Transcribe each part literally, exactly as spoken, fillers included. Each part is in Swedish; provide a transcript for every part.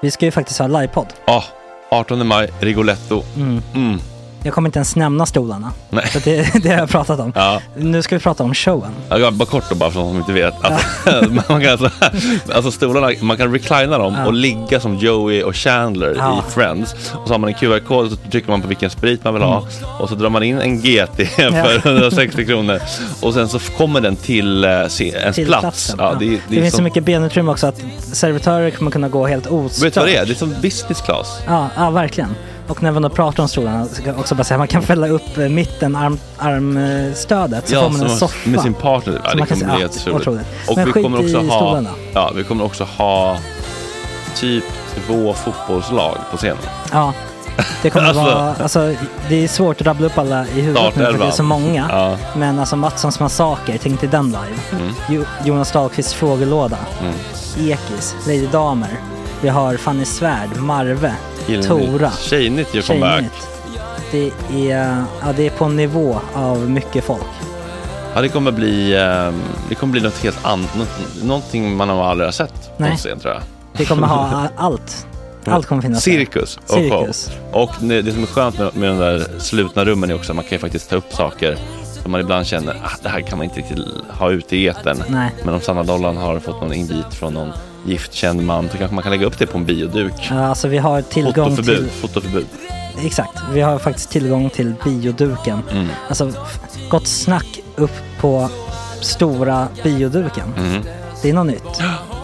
Vi ska ju faktiskt ha livepodd. Ja, oh, artonde maj, Rigoletto. Mm. Mm. Jag kommer inte ens nämna stolarna. Nej. För det, det har jag pratat om. Ja. Nu ska vi prata om showen. Ja, bara kort då, bara för de som inte vet. Alltså, man kan alltså, alltså stolarna, man kan reclina dem ja. och ligga som Joey och Chandler ja. i Friends. Och så har man en Q R-kod och så trycker man på vilken sprit man vill ha. Mm. Och så drar man in en G T för hundrasextio kronor. Och sen så kommer den till uh, ens till plats. Ja, ja. Det, det, det finns som... så mycket benutrymme också att servitörer kommer kunna gå helt ostört. Vet du vad det är? Det är som business class. Ja, ja verkligen. Och när man då pratar om stolarna så kan också bara säga att man kan fälla upp mitten arm, armstödet så ja, får man en soffa med sin partner. Ja, det kommer bli helt otroligt. Och men vi kommer också ha stolarna. Ja, vi kommer också ha typ två fotbollslag på scenen. Ja. Det kommer alltså, vara alltså det är svårt att rabbla upp alla i huvudet nu för det är så många. Ja. Men alltså Mattssons massaker, tänk till den live. Mm. Jo, Jonas Dahlqvists frågelåda. Mm. Ekis, Lady Damer. Vi har Fanny Svärd, Marve, Gillnytt. Tora. Tjejnytt gör comeback. Det är, ja, det är på en nivå av mycket folk. Ja, det kommer bli det kommer bli något helt annat, något, någonting man har aldrig har sett på scen, tror jag. Det kommer ha allt. Allt kommer finnas. Cirkus och Cirkus. Och det som är skönt med, med de där slutna rummen är också att man kan ju faktiskt ta upp saker som man ibland känner att ah, det här kan man inte riktigt ha ute i etern. Nej. Men om Sanna Dollan har fått någon invit från någon giftkänd man så kanske man kan lägga upp det på en bioduk. Ja, alltså vi har tillgång fotoförbud, till... Fotoförbud. Exakt, vi har faktiskt tillgång till bioduken. Mm. Alltså, gott snack upp på stora bioduken. Mm. Det är något nytt.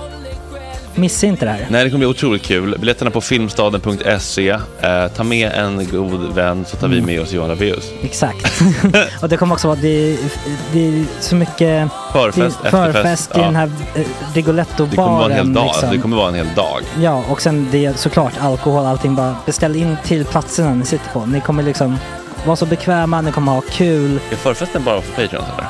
Missa inte det här. Nej, det kommer bli otroligt kul. Biljetterna på filmstaden punkt se. Eh, ta med en god vän så tar mm. vi med oss Johan Rabaeus. Exakt. Och det kommer också vara det, det är så mycket förfest, det, förfest i ja. den här eh, Rigoletto-baren. Det kommer vara en hel dag. Liksom. Det kommer vara en hel dag. Ja, och sen det är såklart alkohol, allting. Bara beställ in till platserna ni sitter på. Ni kommer liksom vara så bekväma, ni kommer ha kul. Är förfesten bara för Patreon eller?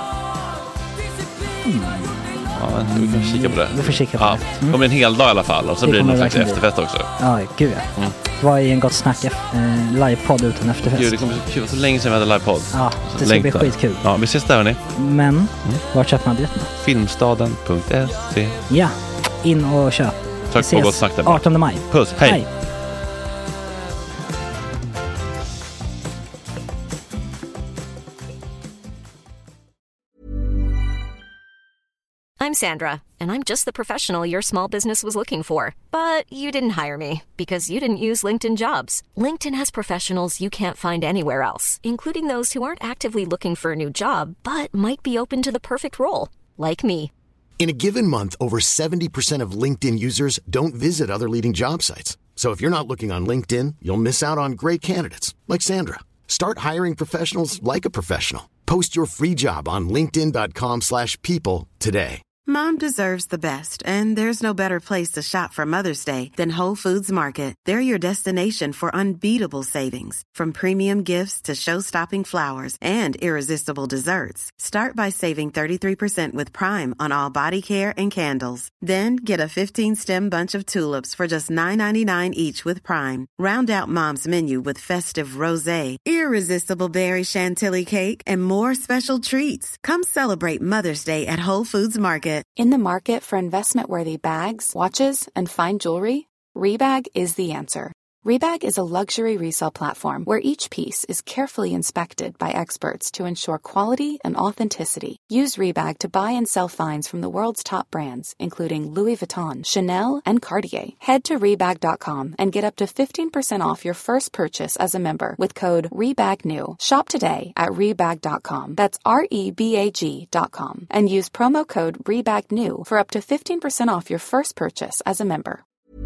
Mm. Ja, vi kan kika på det. Vi får kika på ja, det. Mm. Det kommer en hel dag i alla fall. Och så det blir det någon slags efterfest också. Ja, gud ja. Mm. Vad är en gott snack eh, livepodd utan efterfest? Gud, det kommer så kul. Så länge sedan vi hade livepodd. Ja, det ska bli skitkul. Ja, vi ses där hörni. Men, mm. var köper man biljetterna? filmstaden punkt se. Ja, in och köp. Tack på gott snack där. artonde maj. Puss, hej. hej. I'm Sandra, and I'm just the professional your small business was looking for. But you didn't hire me because you didn't use LinkedIn Jobs. LinkedIn has professionals you can't find anywhere else, including those who aren't actively looking for a new job, but might be open to the perfect role, like me. In a given month, over seventy percent of LinkedIn users don't visit other leading job sites. So if you're not looking on LinkedIn, you'll miss out on great candidates, like Sandra. Start hiring professionals like a professional. Post your free job on linkedin dot com slash people today. Mom deserves the best, and there's no better place to shop for Mother's Day than Whole Foods Market. They're your destination for unbeatable savings, from premium gifts to show-stopping flowers and irresistible desserts. Start by saving thirty-three percent with Prime on all body care and candles. Then get a fifteen-stem bunch of tulips for just nine ninety-nine each with Prime. Round out Mom's menu with festive rosé, irresistible berry chantilly cake, and more special treats. Come celebrate Mother's Day at Whole Foods Market. In the market for investment-worthy bags, watches, and fine jewelry, Rebag is the answer. Rebag is a luxury resale platform where each piece is carefully inspected by experts to ensure quality and authenticity. Use Rebag to buy and sell finds from the world's top brands, including Louis Vuitton, Chanel, and Cartier. Head to Rebag dot com and get up to fifteen percent off your first purchase as a member with code REBAGNEW. Shop today at Rebag dot com. That's R E B A G dot com. And use promo code REBAGNEW for up to fifteen percent off your first purchase as a member.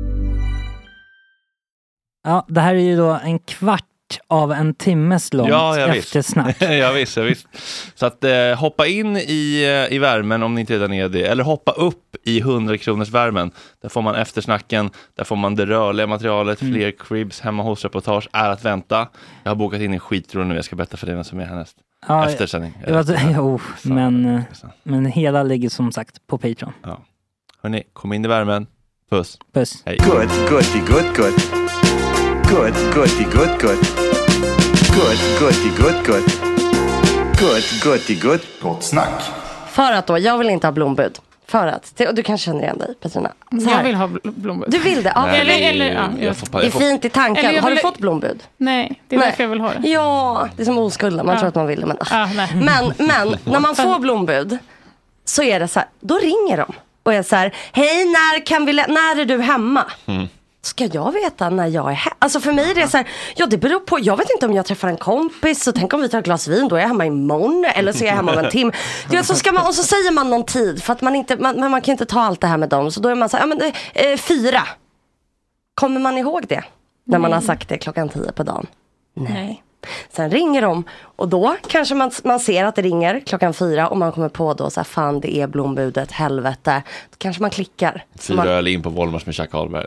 Ja, det här är ju då en kvart av en timmes långt ja, eftersnack. ja, visst, ja, visst. Så att eh, hoppa in i, i värmen om ni inte redan är det. Eller hoppa upp i hundra kronors värmen. Där får man eftersnacken, där får man det rörliga materialet. Mm. Fler cribs, hemma hos reportage är att vänta. Jag har bokat in en skitrolig nu, jag ska berätta för dig vem som är härnäst. Ja, eftersändning. Ja, jo, men, men hela ligger som sagt på Patreon. Ja. Hörrni, kom in i värmen. Puss. Puss. Hej. Good, goody, good, good. Good, goody, good, good. Good, goody, good, good. Good, goody, good. Gott snack. För att då, jag vill inte ha blombud. För att, och du kanske känner igen dig, Petrina. Jag vill ha blombud. Du vill det? Ja. Nej, eller, eller, ja, jag får, det är fint i tanken. Har vill... du fått blombud? Nej, det är nej. därför jag vill ha det. Ja, det är som oskulden. Man ja. tror att man vill det. Men, ja, nej. men, men när man får blombud så är det så här, då ringer de. Och är så här, hej, när, kan vi, när är du hemma? Mm. Ska jag veta när jag är hemma? Alltså för mig är det så här, ja det beror på, jag vet inte om jag träffar en kompis, så tänk om vi tar ett glas vin, då är jag hemma imorgon, eller så är jag hemma om en timme. Du vet, så ska man, och så säger man någon tid, för att man inte, man, man kan inte ta allt det här med dem, så då är man så här, ja men eh, fyra. Kommer man ihåg det? När man har sagt det klockan tio på dagen? Nej. Nej. Sen ringer de, och då kanske man, man ser att det ringer klockan fyra, och man kommer på då så här, fan det är blombudet, helvete. Då kanske man klickar. Fyra man... öl in på Volmars med Jack Ahlberg.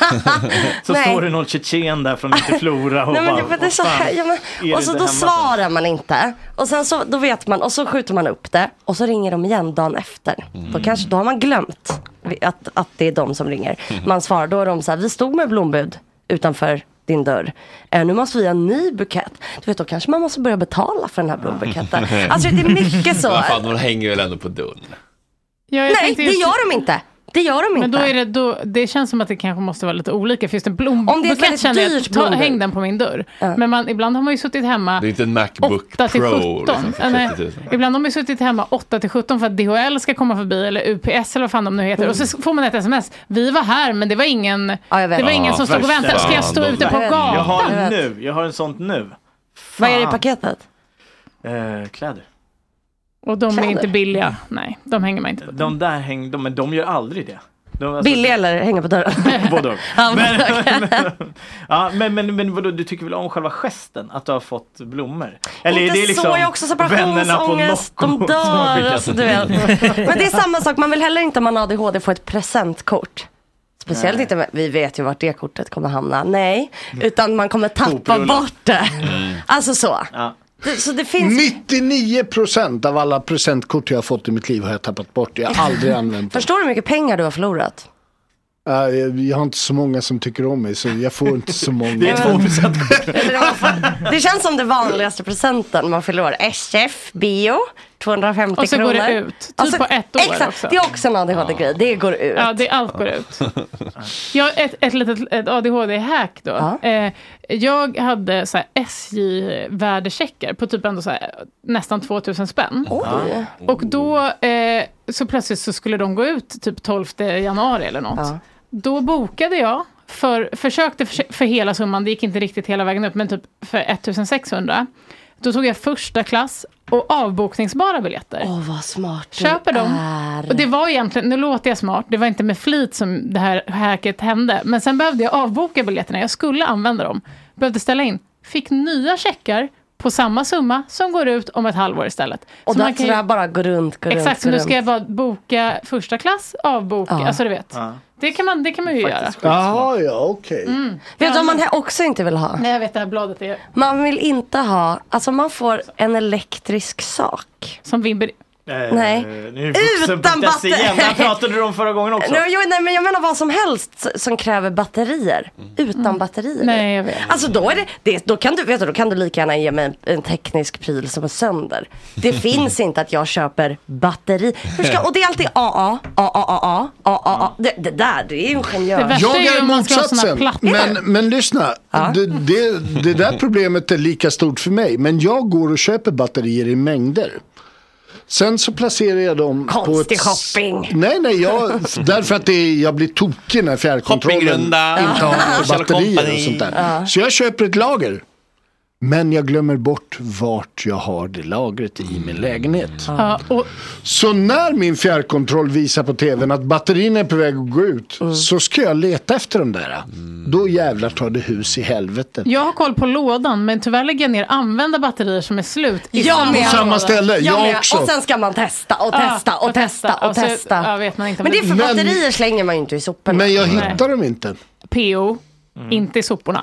Så står det någon tjetjen där från inte Flora och, nej, men, bara, det är så här, ja, men, och så då svarar så? Man inte. Och sen så, då vet man, och så skjuter man upp det, och så ringer de igen dagen efter. Mm. Då kanske, då har man glömt att, att det är de som ringer. Mm. Man svarar, då är de så här, vi stod med blombud utanför din dörr. Äh, nu måste vi ha en ny bukett. Du vet, då kanske man måste börja betala för den här blombuketten. Alltså det är mycket så. Men fan, de hänger väl ändå på dörren. Ja, nej, det just... gör de inte. Det gör de inte. Men då är det, då, det känns som att det kanske måste vara lite olika. Finns det en blombukett, känner jag, ta, häng den på min dörr. Ja. Men man, ibland har man ju suttit hemma. Det är inte en MacBook åtta till Pro. sjutton. Liksom, nej, ibland har man ju suttit hemma åtta till sjutton för att D H L ska komma förbi, eller U P S eller vad fan de nu heter. Mm. Och så får man ett sms. Vi var här, men det var ingen, ja, det var ingen ah, som stod och väntade. Ska jag stå ute på gatan? Jag har nu, jag har en sånt nu. Fan. Vad är det i paketet? Eh, kläder. Och de kläder? Är inte billiga. Nej, de hänger man inte på. De där hänger, de, men de gör aldrig det. De, alltså, billiga eller hänger på dörren? Både och. Ja, men, men, ja, men, men, men vadå, du tycker väl om själva gesten att du har fått blommor? Eller inte är det liksom så, jag också separationsångest, de dör, alltså, du vet. Men det är samma sak, man vill heller inte om man har A D H D få ett presentkort. Speciellt Nej. inte, vi vet ju vart det kortet kommer hamna. Nej, utan man kommer tappa bort det. Mm. Alltså så. Ja. Det, så det finns... nittionio procent av alla presentkort jag har fått i mitt liv har jag tappat bort. Jag har aldrig använt dem. Förstår du hur mycket pengar du har förlorat? Uh, jag, jag har inte så många som tycker om mig, så jag får inte så många. Det är två presentkort. Det känns som det vanligaste presenten man förlorar. S F, bio, tvåhundrafemtio kronor. Och så kronor. Går det ut, typ alltså, på ett år exakt, också. Det är också en A D H D-grej, det går ut. Ja, det allt går ut. Jag har ett, ett litet ett A D H D-hack då. Ja. Eh, jag hade så här S J-värdecheckar på typ ändå så här, nästan tvåtusen spänn. Oj. Och då eh, så plötsligt så skulle de gå ut typ tolfte januari eller något. Ja. Då bokade jag, för, försökte för, för hela summan, det gick inte riktigt hela vägen upp, men typ för ettusensexhundra. Då tog jag första klass och avbokningsbara biljetter. Åh, vad smart du köper dem. är. Och det var egentligen, nu låter jag smart, det var inte med flit som det här hacket hände. Men sen behövde jag avboka biljetterna, jag skulle använda dem. Behövde ställa in, fick nya checkar på samma summa som går ut om ett halvår istället. Och så man kan ju bara gå runt, gå exakt, runt, så nu ska jag bara boka första klass, avboka, ja. Alltså du vet. Ja. Det kan man, det kan man ju faktiskt göra. Jaha, ja, okej. Okay. Mm. Vet du om man också inte vill ha? Nej, jag vet det här bladet är... Man vill inte ha, alltså man får en elektrisk sak. Som vibrerar. Eh, nej. Utan batteri. Där pratade du om förra gången också. Nej, jag, nej, men jag menar vad som helst som kräver batterier. Mm. Utan mm. batterier. Nej, jag vet. Alltså då är det, det då kan du vet du, då kan du lika gärna ge mig en, en teknisk pryl som är sönder. Det finns inte att jag köper batteri. Hur ska, och det är alltid A A A A A A A A. Det, det där, det är ingenjör. Det jag är är motsatsen. Men, men lyssna, ja. det, det, det där problemet är lika stort för mig. Men jag går och köper batterier i mängder. Sen så placerar jag dem konstig på ett... shopping. Nej, nej, jag, därför att det är, jag blir tokig när fjärrkontrollen inte har batterier och sånt där. Ja. Så jag köper ett lager. Men jag glömmer bort vart jag har det lagret i min lägenhet. Ja, och... Så när min fjärrkontroll visar på tvn att batterierna är på väg att gå ut, mm. så ska jag leta efter dem där. Mm. Då jävlar tar det hus i helvetet. Jag har koll på lådan, men tyvärr lägger jag ner använda batterier som är slut. I jag på samma ställe, jag, jag också. Och sen ska man testa och testa ja, och, och testa och, och testa. Och testa. Ja, vet man inte men det är för men, batterier slänger man ju inte i soporna. Men jag hittar Nej. dem inte. P O, mm. inte i soporna.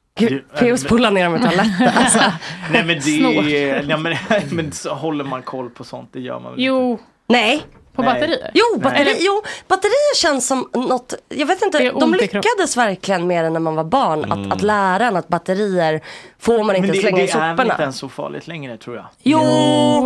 P O spolar ner dem i toaletten. Alltså. Nej, men det är, ja, men, men så håller man koll på sånt, det gör man väl jo. Inte. Nej. På Nej. batterier? Jo, batteri, jo, batterier känns som något, jag vet inte, de lyckades verkligen mer än när man var barn mm. att, att lära en att batterier får man inte men det, slänga det i soporna. Men det är inte ens så farligt längre, tror jag. Jo!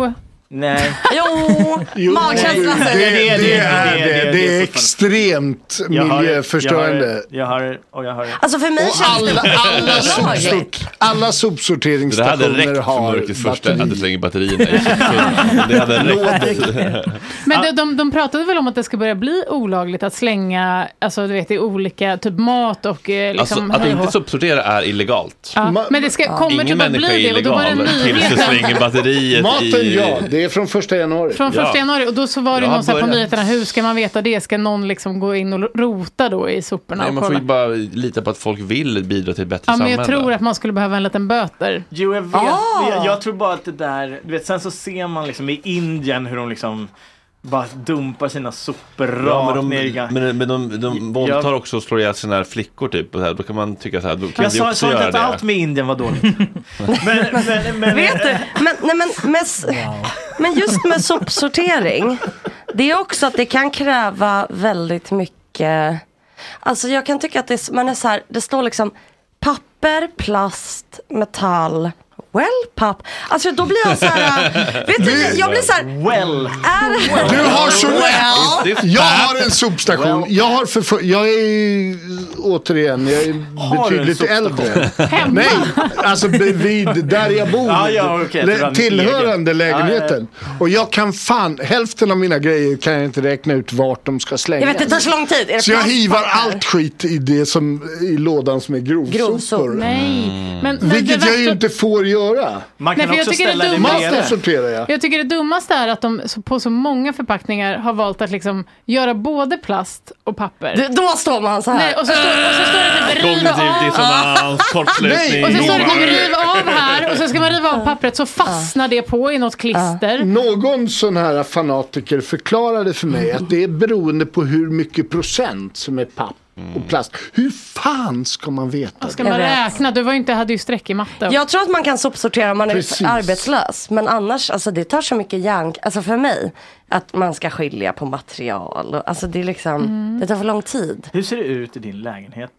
Nej. Jo, Jo, magkänsla det, säger det, det. det, är det. Det är extremt miljöförstörande. Jag hör och jag hör. Alltså för mig och alla, alla, sopsort, alla sopsorteringsstationer har batteri. Första att du slänger batterierna i soptunnan. Det hade räckt. Men de, de, de pratade väl om att det ska börja bli olagligt att slänga, alltså du vet, i olika typ mat och eh, liksom... Alltså, att inte sopsortera är illegalt. Ja, men det ska, kommer ingen typ att bli det och då var det tills du slänger batteriet Maten, i... ja, det är från första januari. Från första januari, och då så var det Jag någon så här på börjat. nyheterna, hur ska man veta det? Ska någon liksom gå in och rota då i soporna? Nej, och man får kolla? ju bara lita på att folk vill bidra till ett bättre Ja, men samhälle. jag tror att man skulle behöva en liten böter. Jo, jag vet. Ah. Jag, jag tror bara att det där, du vet, sen så ser man liksom i Indien hur de liksom bara dumpar sina sopor Ja, rakt men ner i de, gang. men, men de, de Jag- våldtar också och slår ihjäl sina här flickor typ. Och så här, då kan man tycka så här, då kan Jag vi sa, också sa inte göra att det. allt med Indien var dåligt. men, men, men, Vet du, men, nej, men, med, men just med sopsortering, det är också att det kan kräva väldigt mycket. Alltså jag kan tycka att det, man är så här, det står liksom papper, plast, metall, well, papp. Alltså då blir jag så här, vet du, jag blir så här, well. Är, Du har så well. rätt. Jag har en sopstation. Jag har för, jag är återigen, jag är Har du en betydligt sopstation? äldre. Hemma? Nej, alltså bredvid där jag bor. Ja, ja, okej, Le- du har en tillhörande egen. lägenheten. Och jag kan fan, hälften av mina grejer kan jag inte räkna ut vart de ska slängas. Jag vet, det tar så lång tid. Är det Så jag plast, hivar papper? allt skit i det som i lådan som är grovsopor. Grovsopor. Nej. Men, men Vilket det jag ju värsta- inte får göra. Man Nej, kan för jag också tycker det är ställa det dumt. Maten bredvid. sorterar jag. Jag tycker det dummaste är att de så- på så många förpackningar har valt att liksom göra både plast och papper. Du, då står man så här. Nej, och så står, och så står det typ riv Kognitiv av. dissonans, kortslutning. Och så står det typ riv av här och så ska man riva av pappret så fastnar det på i något klister. Någon sån här fanatiker förklarade för mig att det är beroende på hur mycket procent som är papp och plast. Hur fan ska man veta Ska det? man Jag vet. räkna? Du var ju inte, hade ju streck i matte. Jag tror att man kan sopsortera om man är Precis. arbetslös. Men annars, alltså det tar så mycket järn. Alltså för mig, att man ska skilja på material. och- Alltså det är liksom, det tar för lång tid. Hur ser det ut i din lägenhet?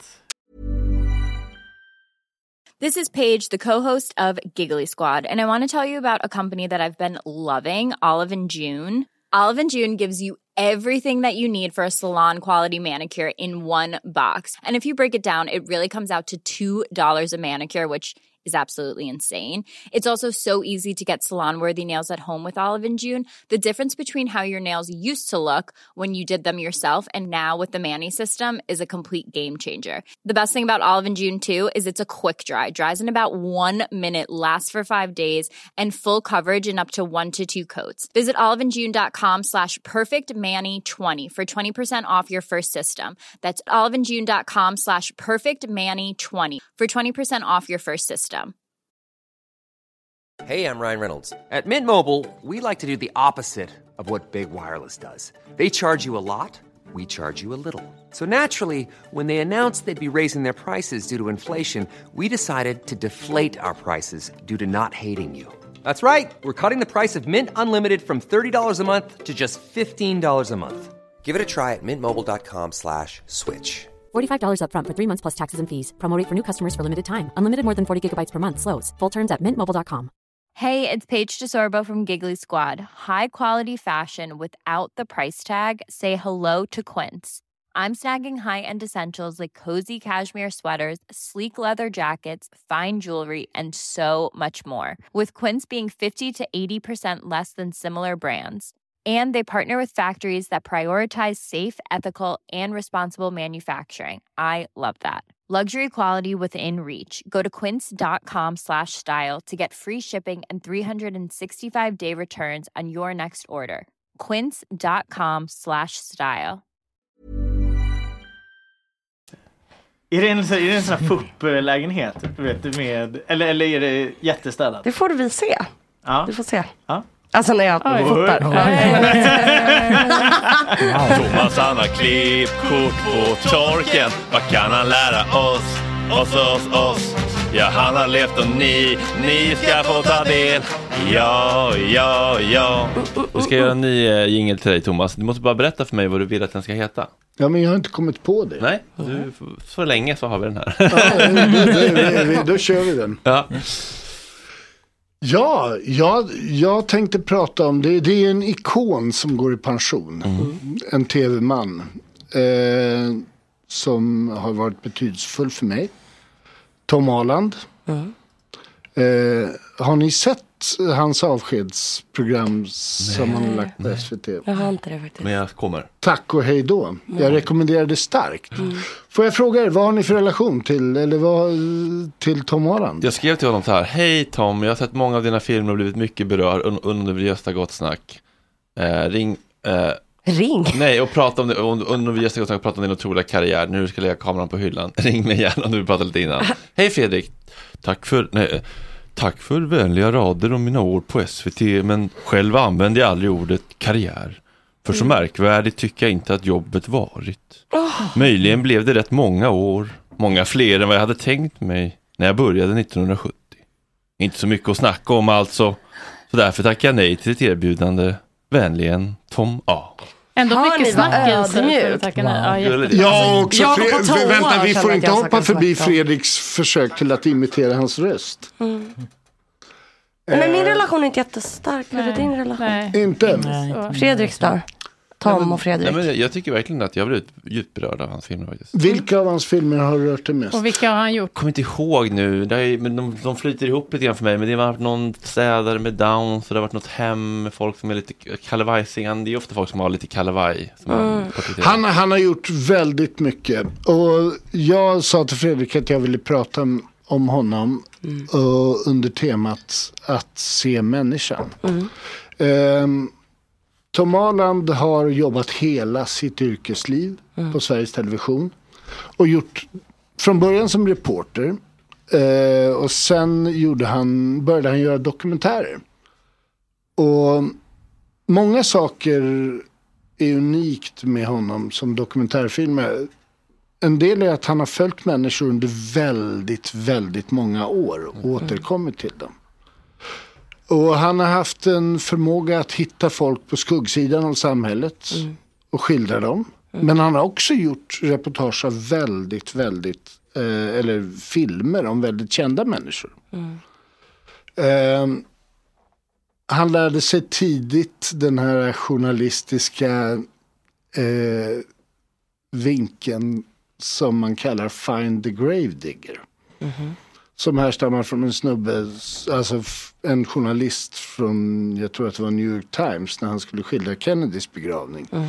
This is Paige, the co-host of Giggly Squad, and I want to tell you about a company that I've been loving, Olive and June. Olive and June gives you everything that you need for a salon quality manicure in one box. And if you break it down, it really comes out to two dollars a manicure, which is absolutely insane. It's also so easy to get salon-worthy nails at home with Olive and June. The difference between how your nails used to look when you did them yourself and now with the Mani system is a complete game changer. The best thing about Olive and June too is it's a quick dry. Dries in about one minute, lasts for five days, and full coverage in up to one to two coats. Visit oliveandjune.com slash perfectmani20 for twenty percent off your first system. That's oliveandjune.com slash perfectmani20 for twenty percent off your first system. Hey, I'm Ryan Reynolds. At Mint Mobile, we like to do the opposite of what Big Wireless does. They charge you a lot, we charge you a little. So naturally, when they announced they'd be raising their prices due to inflation, we decided to deflate our prices due to not hating you. That's right. We're cutting the price of Mint Unlimited from thirty dollars a month to just fifteen dollars a month. Give it a try at mintmobile.com slash switch. forty-five dollars up front for three months plus taxes and fees. Promo rate for new customers for limited time. Unlimited more than forty gigabytes per month. Slows full terms at mint mobile dot com. Hey, it's Paige DeSorbo from Giggly Squad. High quality fashion without the price tag. Say hello to Quince. I'm snagging high-end essentials like cozy cashmere sweaters, sleek leather jackets, fine jewelry, and so much more. With Quince being fifty to eighty percent less than similar brands. And they partner with factories that prioritize safe, ethical, and responsible manufacturing. I love that. Luxury quality within reach. Go to quince.com slash style to get free shipping and three sixty-five day returns on your next order. Quince.com slash style. Är det en, är det en sån här fupp-lägenhet? Vet du, med, eller, eller är det jättestädat? Det får vi se. Ja. Du får se. Ja. Alltså när jag fotar. Thomas han har klippkort på torken. Vad kan han lära oss? Oss, oss, oss. Ja, han har levt och ni, ni ska få ta del. Ja, ja, ja. Vi ska göra en ny uh, jingle till dig, Thomas. Du måste bara berätta för mig vad du vill att den ska heta. Ja, men jag har inte kommit på det. Nej, du, så länge så har vi den här. Ja, då, då, då, då kör vi den. Ja. Ja, jag, jag tänkte prata om det. Det är en ikon som går i pension. Mm. En tv-man. Eh, som har varit betydelsefull för mig. Tom Holland. Mm. Eh, har ni sett hans avskedsprogram som han har lagt på S V T? Jag har inte det faktiskt. Men jag kommer. Tack och hej då. Mm. Jag rekommenderar det starkt. Mm. Får jag fråga er, vad har ni för relation till, eller vad, till Tom Holland? Jag skrev till honom så här: hej Tom, jag har sett många av dina filmer och blivit mycket berörd un- under Gösta Gott snack. Eh, ring... Eh, Ring? Nej, och prata om det under vi Gösta Gott snack, prata om din otroliga karriär. Nu ska jag lägga kameran på hyllan. Ring mig gärna om du vill prata lite innan. Hej Fredrik, tack för... Nej, tack för vänliga rader om mina år på S V T, men själv använde jag aldrig ordet karriär. För så märkvärdigt tycker jag inte att jobbet varit. Oh. Möjligen blev det rätt många år, många fler än vad jag hade tänkt mig när jag började nittonhundrasjuttio. Inte så mycket att snacka om alltså, så därför tackar jag nej till ett erbjudande. Vänligen, Tom A. Ändå har mycket snackelse. Ja, ja, också Fre- toa, vänta, vi får inte hoppa förbi Fredriks försök till att imitera hans röst. Mm. Men min relation är inte jättestark. Hur är din relation? Nej. Inte? Nej. Fredriks då? Tom och Fredrik. Nej, men jag, jag tycker verkligen att jag har blivit djupt berörd av hans filmer faktiskt. Vilka av hans filmer har rört dig mest? Och vilka har han gjort? Jag kommer inte ihåg nu. Det är, men de, de flyter ihop lite grann för mig. Men det har varit någon städare med Downs. Så det har varit något hem med folk som är lite kalevajsingande. Det är ofta folk som har lite kalevaj. Mm. Han, han har gjort väldigt mycket. Och jag sa till Fredrik att jag ville prata om, om honom. Mm. Och under temat att se människan. Mm. Um, Tom Holland har jobbat hela sitt yrkesliv mm. på Sveriges Television och gjort från början som reporter eh, och sen gjorde han, började han göra dokumentärer. Och många saker är unikt med honom som dokumentärfilmer. En del är att han har följt människor under väldigt, väldigt många år och mm. återkommit till dem. Och han har haft en förmåga att hitta folk på skuggsidan av samhället mm. och skildra dem. Mm. Men han har också gjort reportage av väldigt, väldigt, eh, eller filmer om väldigt kända människor. Mm. Eh, han lärde sig tidigt den här journalistiska eh, vinkeln som man kallar Find the Gravedigger. Mm. Som härstammar från en snubbe, alltså en journalist från, jag tror att det var New York Times, när han skulle skildra Kennedys begravning. Mm.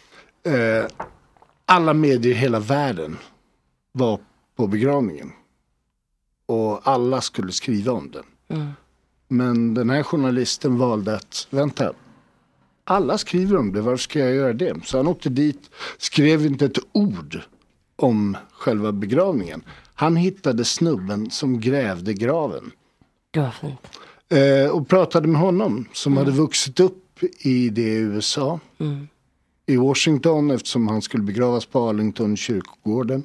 Eh, alla medier i hela världen var på begravningen. Och alla skulle skriva om den. Mm. Men den här journalisten valde att, vänta, alla skriver om det, varför ska jag göra det? Så han åkte dit, skrev inte ett ord om själva begravningen. Han hittade snubben som grävde graven. Det var fint. Eh, och pratade med honom som mm. hade vuxit upp i det i U S A. Mm. I Washington, eftersom han skulle begravas på Arlington kyrkogården.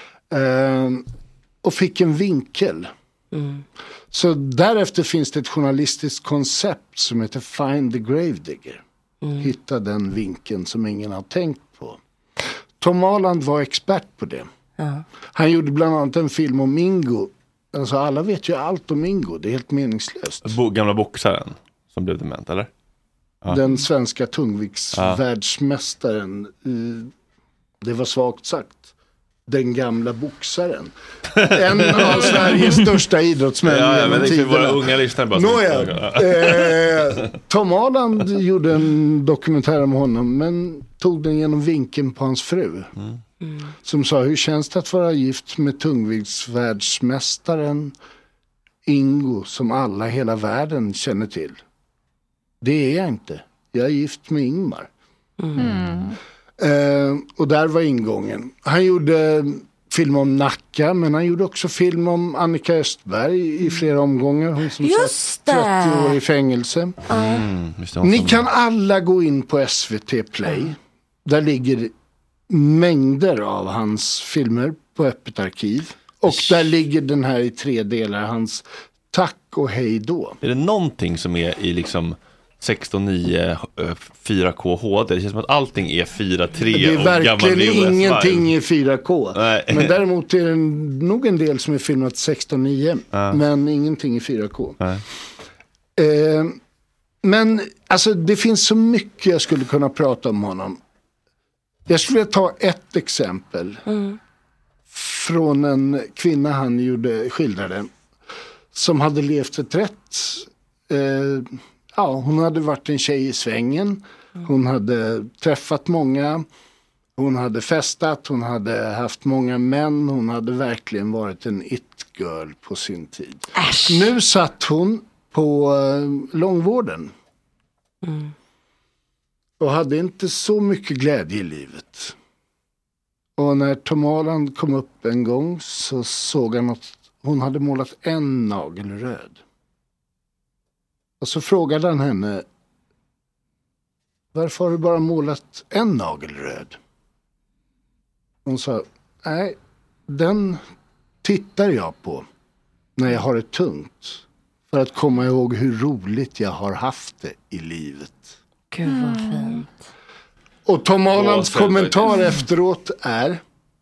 Eh, och fick en vinkel. Mm. Så därefter finns det ett journalistiskt koncept som heter Find the Gravedigger. Mm. Hitta den vinkeln som ingen har tänkt på. Tom Holland var expert på det. Ja. Han gjorde bland annat en film om Ingo. Alltså alla vet ju allt om Ingo. Det är helt meningslöst. Bo- gamla boxaren som blev dement, eller? Ja. Den svenska tungviktsvärldsmästaren. Ja. Det var svagt sagt. Den gamla boxaren. En av Sveriges största idrottsmän. Ja, ja, men det är våra unga lyssnare bara. Nåja, eh, Tom Holland gjorde en dokumentär om honom, men tog den genom vinkeln på hans fru. Mm. Mm. Som sa, hur känns det att vara gift med tungviktsvärldsmästaren Ingo, som alla i hela världen känner till? Det är jag inte. Jag är gift med Ingmar. Mm. Mm. Uh, och där var ingången. Han gjorde film om Nacka, men han gjorde också film om Annika Östberg i flera omgångar. Hon som satt trettio år i fängelse. Mm, Ni kan alla gå in på S V T Play. Mm. Där ligger mängder av hans filmer på öppet arkiv. Och där ligger den här i tre delar, hans Tack och hej då. Är det någonting som är i liksom sexton nio fyra K H D? Det känns som att allting är fyra tre. Det är verkligen ingenting i fyra K. Nej. Men däremot är det nog en del som är filmat sexton nio. Ja. Men ingenting i fyra K. Nej. Eh, men alltså det finns så mycket jag skulle kunna prata om honom. Jag skulle ta ett exempel. Mm. Från en kvinna han gjorde, skildrade. Som hade levt ett rätt. Eh, ja, hon hade varit en tjej i svängen. Hon hade träffat många. Hon hade festat. Hon hade haft många män. Hon hade verkligen varit en it-girl på sin tid. Äsch. Nu satt hon på eh, långvården. Mm. Och hade inte så mycket glädje i livet. Och när Tom Holland kom upp en gång så såg han att hon hade målat en nagel röd. Och så frågade han henne: varför har du bara målat en nagel röd? Hon sa: nej, den tittar jag på när jag har det tungt. För att komma ihåg hur roligt jag har haft det i livet. Gud vad fint. Och Tom Hollands kommentar efteråt är: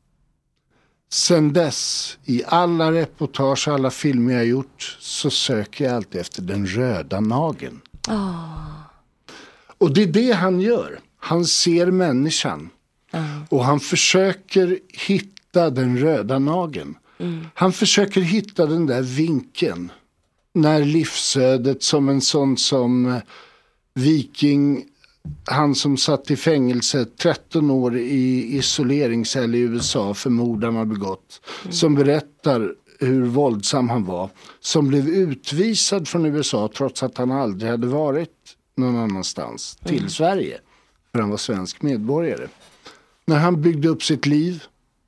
sen dess, i alla reportage, alla filmer jag gjort, så söker jag alltid efter den röda nageln. Oh. Och det är det han gör. Han ser människan. Mm. Och han försöker hitta den röda nageln. Mm. Han försöker hitta den där vinkeln. När livsödet, som en sån som Viking, han som satt i fängelse tretton år i isoleringscell i U S A för mord han har begått. Mm. Som berättar hur våldsam han var. Som blev utvisad från U S A trots att han aldrig hade varit någon annanstans. Mm. Till Sverige. För han var svensk medborgare. När han byggde upp sitt liv,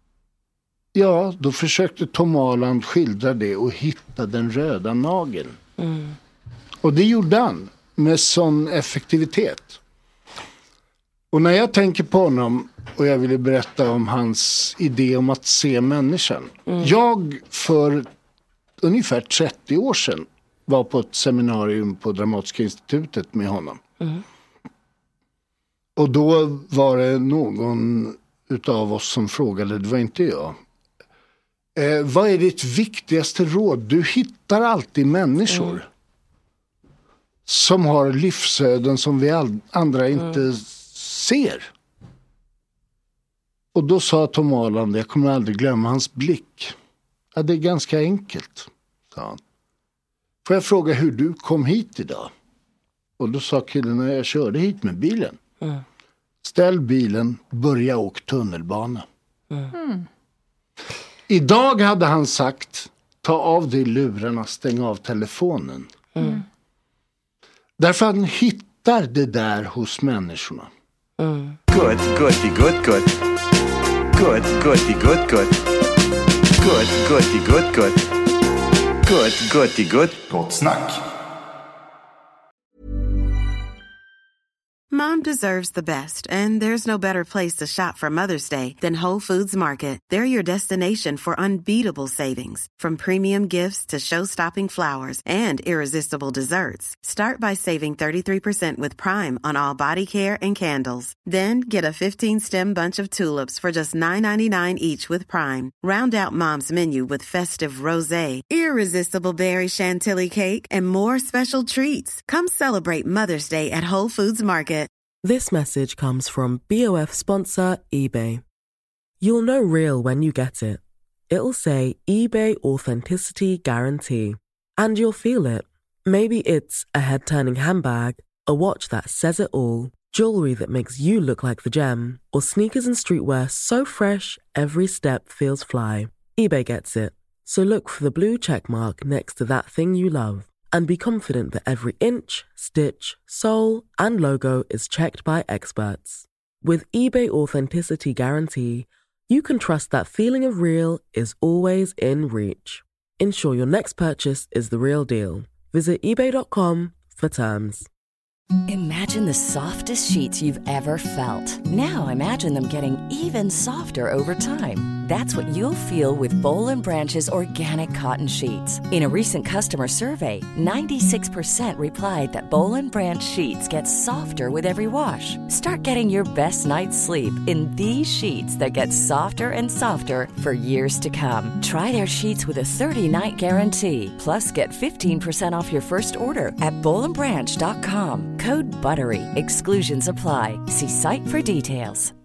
ja, då försökte Tom Holland skildra det och hitta den röda nageln. Mm. Och det gjorde han med sån effektivitet. Och när jag tänker på honom och jag ville berätta om hans idé om att se människan. Mm. Jag för ungefär trettio år sedan var på ett seminarium på Dramatiska institutet med honom. Mm. Och då var det någon utav oss som frågade, det var inte jag. Eh, vad är ditt viktigaste råd? Du hittar alltid människor. Mm. Som har livsöden som vi all- andra inte mm. ser. Och då sa Tom Holland, jag kommer aldrig glömma hans blick. Ja, det är ganska enkelt, sa han. Får jag fråga hur du kom hit idag? Och då sa killen, när jag körde hit med bilen. Mm. Ställ bilen, börja åka tunnelbana. Mm. Idag hade han sagt, ta av dig lurarna, stäng av telefonen. Mm. Därför han hittar det där hos människorna. Mm. Good, goody, good, good. Good, goody, good, good. Good, goody, good, good. Good, goody, good. Gott snack. Mom deserves the best, and there's no better place to shop for Mother's Day than Whole Foods Market. They're your destination for unbeatable savings, from premium gifts to show-stopping flowers and irresistible desserts. Start by saving thirty-three percent with Prime on all body care and candles. Then get a fifteen-stem bunch of tulips for just nine ninety-nine each with Prime. Round out Mom's menu with festive rosé, irresistible berry chantilly cake, and more special treats. Come celebrate Mother's Day at Whole Foods Market. This message comes from B O F sponsor eBay. You'll know real when you get it. It'll say eBay Authenticity Guarantee. And you'll feel it. Maybe it's a head-turning handbag, a watch that says it all, jewelry that makes you look like the gem, or sneakers and streetwear so fresh every step feels fly. eBay gets it. So look for the blue check mark next to that thing you love. And be confident that every inch, stitch, sole, and logo is checked by experts. With eBay Authenticity Guarantee, you can trust that feeling of real is always in reach. Ensure your next purchase is the real deal. Visit ebay dot com for terms. Imagine the softest sheets you've ever felt. Now imagine them getting even softer over time. That's what you'll feel with Bowl and Branch's organic cotton sheets. In a recent customer survey, ninety-six percent replied that Bowl and Branch sheets get softer with every wash. Start getting your best night's sleep in these sheets that get softer and softer for years to come. Try their sheets with a thirty-night guarantee. Plus, get fifteen percent off your first order at bowl and branch dot com. Code BUTTERY. Exclusions apply. See site for details.